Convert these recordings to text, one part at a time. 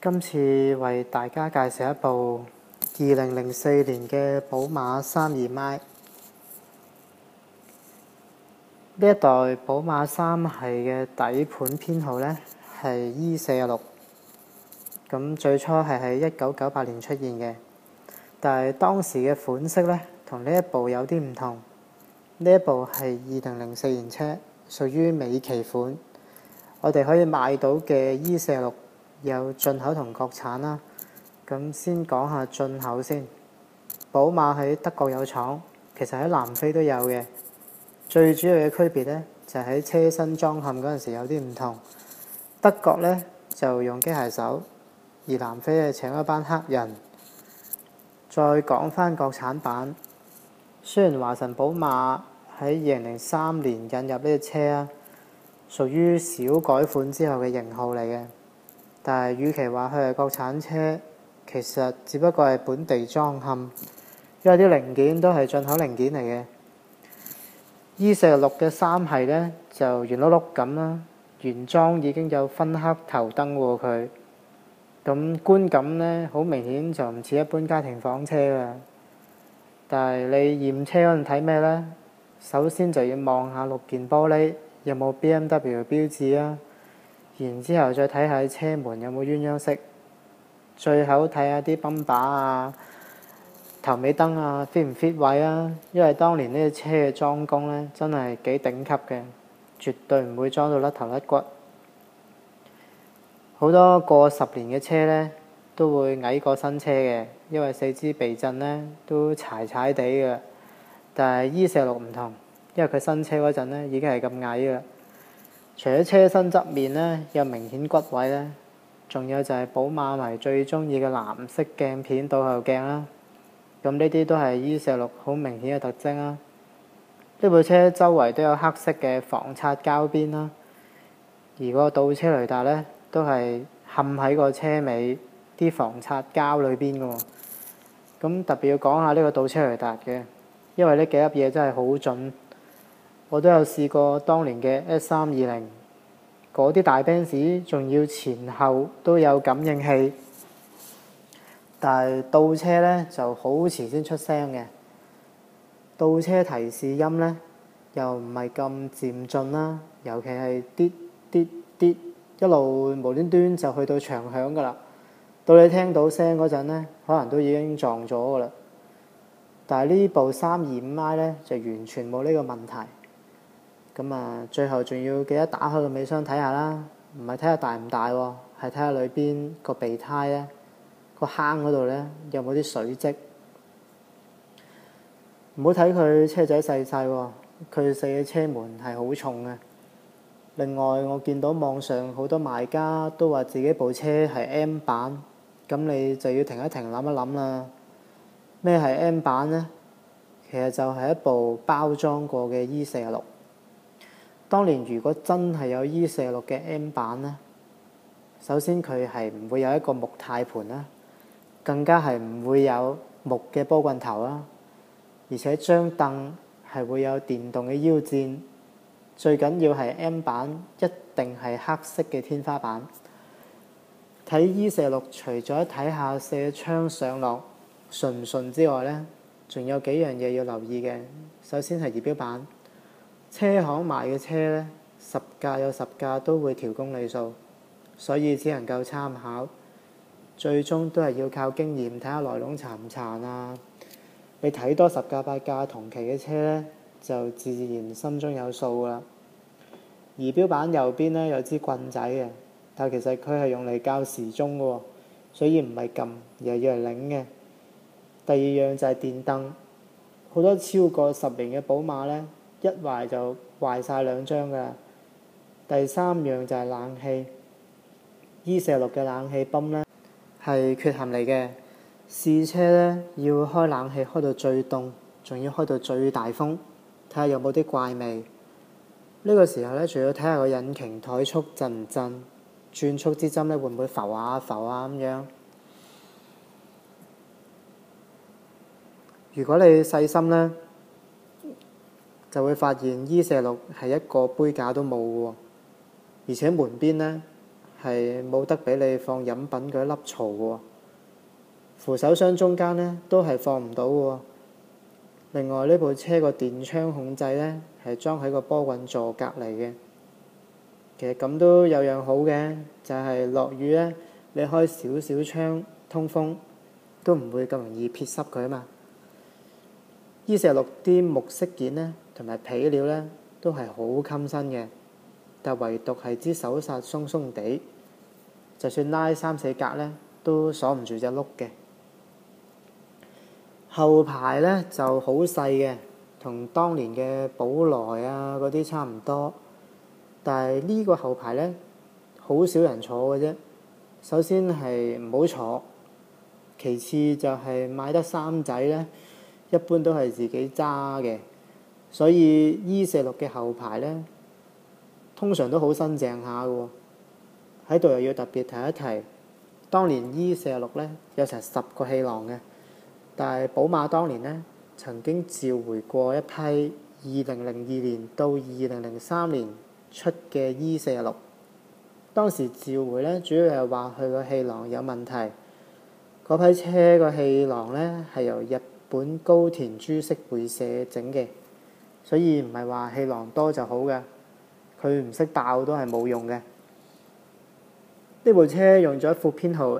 今次為大家介紹一部2004年嘅寶馬32i。呢一代寶馬3系嘅底盤編號呢係 E46，咁最初係喺1998年出現嘅，但係當時嘅款式呢同呢一部有啲唔同。呢一部係2004年車，屬於尾期款。我哋可以買到嘅 E46有進口同國產啦。咁先講下進口先。寶馬喺德國有廠，其實喺南非都有嘅。最主要嘅區別呢，就係喺車身裝嵌嗰陣時有啲唔同。德國呢就用機械手，而南非係請一班黑人。再講返國產版，雖然華晨寶馬喺2003年引入呢隻車啊，屬於小改款之後嘅型號嚟嘅，但係與其話佢係國產車，其實只不過係本地裝嵌，因為啲零件都係進口零件嚟嘅。E46嘅3系呢就圓碌碌咁啦，原裝已經有分黑頭燈喎佢，咁觀感呢好明顯就唔似一般家庭房車啦。但係你驗車嗰陣睇咩呢？首先就要望下6件玻璃有冇 BMW 標誌啊，然之後再睇下車門有冇鴛鴦色，最後睇下啲泵把啊、頭尾燈啊 fit 唔 fit 位啊，因為當年呢隻車嘅裝工呢真係幾頂級嘅，絕對唔會裝到甩頭甩骨。好多過10年嘅車呢都會矮過新車嘅，因為四肢避震呢都柴柴地嘅。但係 E46唔同，因為佢新車嗰陣呢已經係咁矮嘅。除咗車身側面呢有明顯骨位呢，仲有就係寶馬迷最中意嘅藍色鏡片倒後鏡啦。咁呢啲都係 E46好明顯嘅特徵啦。呢部車周圍都有黑色嘅防擦膠邊啦，而個倒車雷達呢都係嵌喺個車尾啲防擦膠裏邊嘅喎。咁特別要講下呢個倒車雷達嘅，因為呢幾粒嘢真係好準。我都有試過當年嘅 S320，嗰啲大 Benz 仲要前後都有感應器，但係倒車呢就好遲先出聲嘅。倒車提示音呢又唔係咁漸進啦，尤其係啲啲啲一路無端端就去到長響㗎啦。到你聽到聲嗰陣呢，可能都已經撞咗㗎啦。但係呢部325i呢就完全冇呢個問題。咁啊，最後仲要記得打開個尾箱睇下啦，唔係睇下大唔大喎，係睇下裏邊個備胎呢，個坑嗰度呢有冇啲水漬。唔好睇佢車仔細細喎，佢四嘅車門係好重嘅。另外我見到網上好多賣家都話自己部車係 M 版，咁你就要停一停諗一諗啦。咩係 M 版呢？其實就係一部包裝過嘅 E46。當年如果真係有 E46嘅 M 版呢，首先佢係唔會有一個木軚盤啦，更加係唔會有木嘅波棍頭啦，而且張凳係會有電動嘅腰墊。最緊要係 M 版一定係黑色嘅天花板。睇 E46除咗睇下射窗上落順唔順之外呢，仲有幾樣嘢要留意嘅。首先係儀表板，車行賣嘅車呢，10架有10架都會調公里數，所以只能夠參考，最終都係要靠經驗睇下內籠殘唔殘啊。你睇多10架8架同期嘅車呢，就自然心中有數啦。儀表板右邊呢有支棍仔嘅，但其實佢係用嚟校時鐘嘅喎，所以唔係撳，而係要嚟擰嘅。第二樣就係電燈，好多超過10年嘅寶馬呢，一壞就壞晒2張㗎。第三樣就係冷氣，E46嘅冷氣泵呢係缺陷嚟嘅。試車呢要開冷氣開到最凍，仲要開到最大風，睇下有冇啲怪味。呢個時候呢，仲要睇下個引擎怠速震唔震，轉速之針呢會唔會浮下浮下咁樣。如果你細心呢，就會發現 E46係一個杯架都冇喎，而且門邊呢係冇得俾你放飲品嗰粒槽喎。扶手箱中間呢都係放唔到喎。另外呢部車個電窗控制呢係裝喺個波棍座隔離嘅。其實咁都有樣好嘅，就係落雨呢，你開少少窗通風，都唔會咁容易撇濕佢啊嘛。E46啲木飾件呢，同埋皮料呢，都係好襟身嘅，但唯獨係支手剎鬆鬆地，就算拉3、4格呢，都鎖唔住隻轆嘅。後排呢就好細嘅，同當年嘅寶來啊嗰啲差唔多，但係呢個後排呢，好少人坐嘅啫。首先係唔好坐，其次就係買得衫仔呢，一般都係自己揸嘅，所以 E46嘅後排呢，通常都好新淨下嘅喎。喺度又要特別提一提，當年 E46呢有成10個氣囊嘅，但係寶馬當年呢曾經召回過一批2002年到2003年出嘅 E46，當時召回呢主要係話佢個氣囊有問題，嗰批車個氣囊呢係由日本高田株式會社整嘅，所以唔係話氣囊多就好嘅，佢唔識爆都係冇用嘅。呢部車用咗一副編號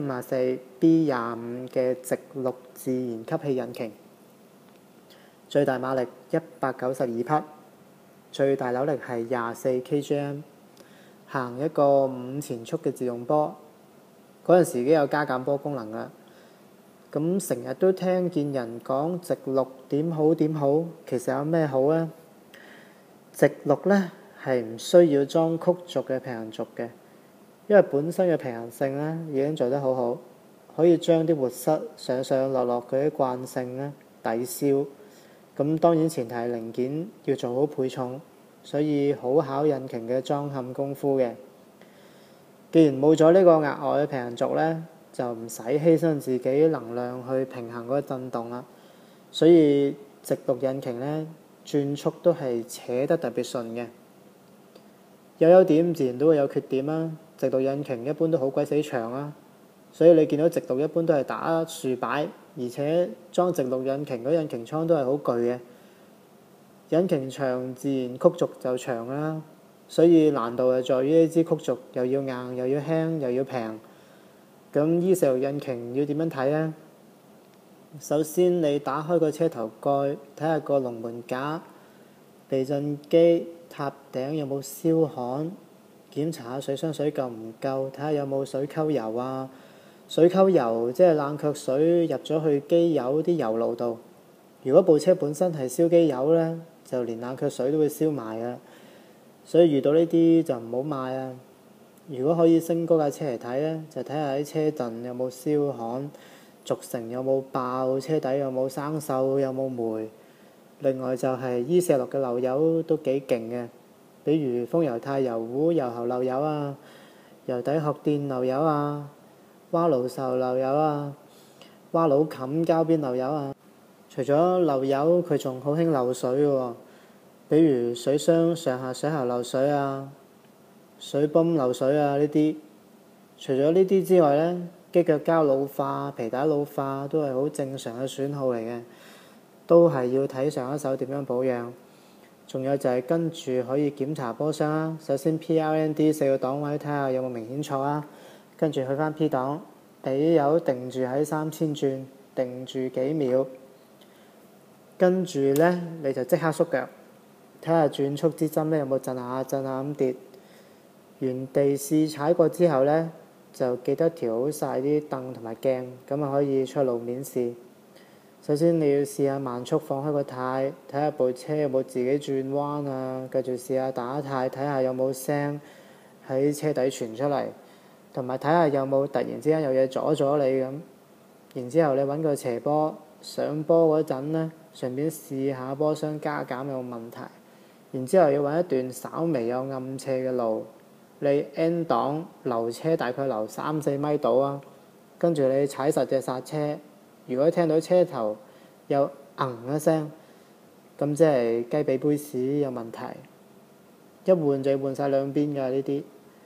M54B25 嘅直六自然吸氣引擎，最大馬力192匹，最大扭力係24 kgm， 行一個5前速嘅自動波，嗰陣時已經有加減波功能啦。咁成日都聽見人講直六點好點好，其實有咩好呢？直六呢係唔需要裝曲軸嘅平衡軸嘅，因為本身嘅平衡性呢已經做得好好，可以將啲活塞上上落落嗰啲慣性呢抵消。咁當然前提係零件要做好配重，所以好考引擎嘅裝嵌功夫嘅。既然冇咗呢個額外嘅平衡軸呢，就唔使犧牲自己能量去平衡嗰個震動啦，所以直六引擎呢轉速都係扯得特別順嘅。有優點自然都會有缺點啦，直六引擎一般都好鬼死長啦，所以你見到直六一般都係打豎擺，而且裝直六引擎嗰引擎倉都係好巨嘅。引擎長自然曲軸就長啦，所以難度就在於呢支曲軸又要硬又要輕又要平。咁E46引擎要點樣睇呢？首先你打開個車頭蓋，睇下個龍門架、避震機、塔頂有冇燒焊，檢查下水箱水夠唔夠，睇下有冇水溝油啊。水溝油即係冷卻水入咗去機油啲油路度。如果部車本身係燒機油呢，就連冷卻水都會燒埋啊。所以遇到呢啲就唔好買啊。如果可以升高架車嚟睇呢，就睇下啲車陣有冇燒焊，軸承有冇爆，車底有冇生鏽，有冇霉。另外就係E46嘅漏油都幾勁嘅，比如風油軚油壺油喉漏油啊，油底殼墊漏油啊，蛙爐受漏油啊，蛙佬冚膠邊漏油啊。除咗漏油，佢仲好興漏水嘅喎，比如水箱上下水喉漏水啊，水泵漏水啊呢啲。除咗呢啲之外呢，機腳膠老化、皮帶老化都係好正常嘅損耗嚟嘅，都係要睇上一手點樣保養。仲有就係跟住可以檢查波箱啦。首先 PRND 4個檔位睇下有冇明顯錯啊，跟住去翻 P 檔，俾油定住喺3000轉，定住幾秒，跟住呢，你就即刻縮腳，睇下轉速支針呢有冇震下震下咁跌。原地試踩過之後呢，就記得調好晒啲凳同埋鏡，咁啊可以出路面試。首先你要試下慢速放開個軚，睇下部車有冇自己轉彎啊，繼續試下打軚，睇下有冇聲喺車底傳出嚟，同埋睇下有冇突然之間有嘢阻咗你咁。然之後你揾個斜坡上坡嗰陣呢，順便試下波箱加減有冇問題。然之後要揾一段稍微有暗斜嘅路，你 N 檔留車大概留3-4米到啊，跟住你踩實隻剎車，如果聽到車頭有一聲，咁即係雞髀杯屎有問題。一換就要換晒兩邊㗎呢啲。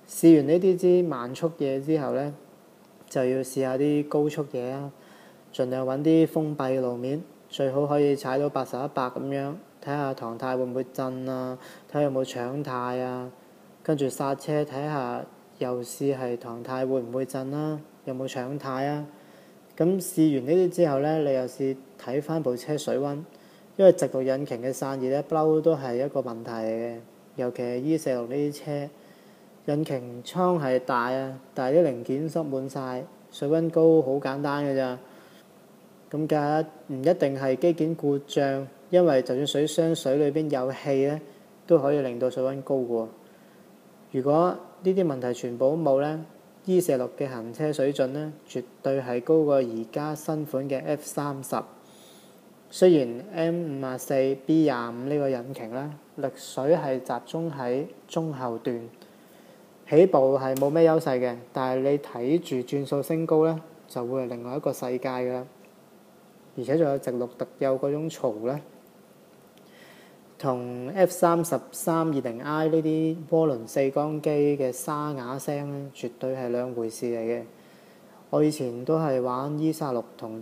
試完呢啲支慢速嘢之後呢，就要試下啲高速嘢啊，盡量揾啲封閉路面，最好可以踩到80-100咁樣，睇下唐太會唔會震啊，睇下有冇搶太啊，跟住剎車睇下又試係唐太會唔會震啦，有冇搶太啊。咁試完呢啲之後呢，你又試睇翻部車水溫，因為直六引擎嘅散熱呢，不嬲都係一個問題嚟嘅，尤其係 E46呢啲車。引擎艙係大啊，但係啲零件塞滿晒，水溫高好簡單嘅咋。咁架唔一定係機件故障，因為就算水箱水裏邊有氣咧，都可以令到水溫高嘅喎。如果呢啲問題全部都冇咧，E46嘅行車水準咧，絕對係高過而家新款嘅 F30。雖然 M54B25 呢個引擎咧，力水係集中喺中後段。起步係冇咩優勢嘅，但係你睇住轉數升高咧，就會係另外一個世界㗎啦。而且仲有直六特有嗰種嘈咧，同 F3320i 呢啲渦輪四缸機嘅沙啞聲咧，絕對係兩回事嚟嘅。我以前都係玩 E36同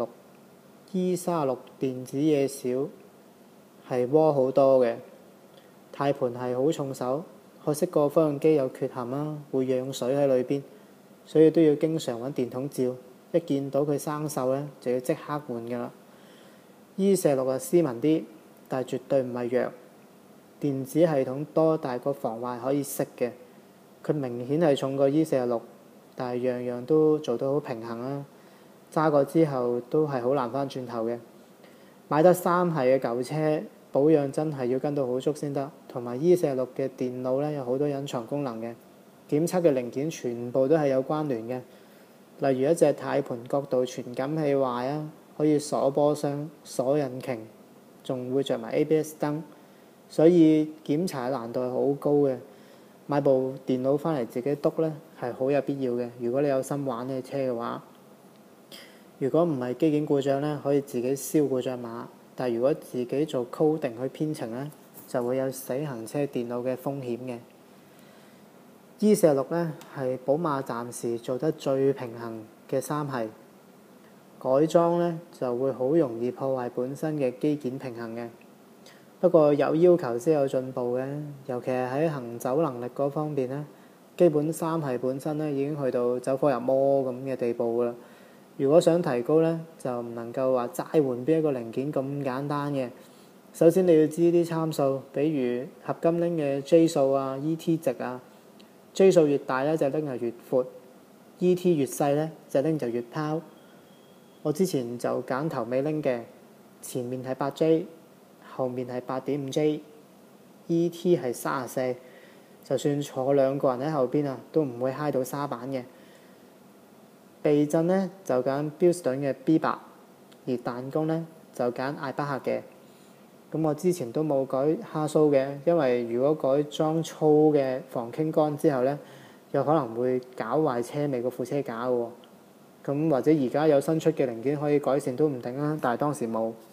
E46，E36 電子嘢少，係渦好多嘅，軚盤係好重手。可惜個方向機有缺陷啦，會養水喺裏邊，所以都要經常揾電筒照。一見到佢生鏽咧，就要即刻換㗎啦。E46係斯文啲，但係絕對唔係弱。電子系統多，但係個防壞可以熄嘅。佢明顯係重過 E46，但係樣樣都做到好平衡啦。揸過之後都係好難翻轉頭嘅。買得三系嘅舊車，保養真係要跟到好足先得。同埋 E46嘅電腦咧，有好多隱藏功能嘅，檢測嘅零件全部都係有關聯嘅。例如一隻軚盤角度傳感器壞啊，可以鎖波箱、鎖引擎，仲會着埋 ABS 燈，所以檢查難度係好高嘅。買部電腦翻嚟自己篤咧，係好有必要嘅。如果你有心玩呢車嘅話，如果唔係機件故障咧，可以自己燒故障碼，但係如果自己做 coding 去編程咧，就會有死行車電腦嘅風險嘅。E46咧係寶馬暫時做得最平衡嘅三系，改裝咧就會好容易破壞本身嘅機件平衡嘅。不過有要求先有進步嘅，尤其係喺行走能力嗰方面咧，基本三系本身咧已經去到走火入魔咁嘅地步㗎啦。如果想提高咧，就唔能夠話齋換邊一個零件咁簡單嘅。首先你要知啲參數，比如合金鈴嘅 J 數啊、ET 值啊。J 數越大咧，隻鈴就越闊 ；ET 越細咧，隻鈴就越拋。我之前就揀頭尾鈴嘅，前面係8J，後面係8.5J，ET 係34，就算坐兩個人喺後邊啊，都唔會揩到沙板嘅。避震咧就揀標準嘅 B8，而彈弓咧就揀艾巴赫嘅。咁我之前都冇改蝦蘇嘅，因為如果改裝粗嘅防傾桿之後咧，有可能會搞壞車尾個副車架嘅喎。咁或者而家有新出嘅零件可以改善都唔定啦，但係當時冇。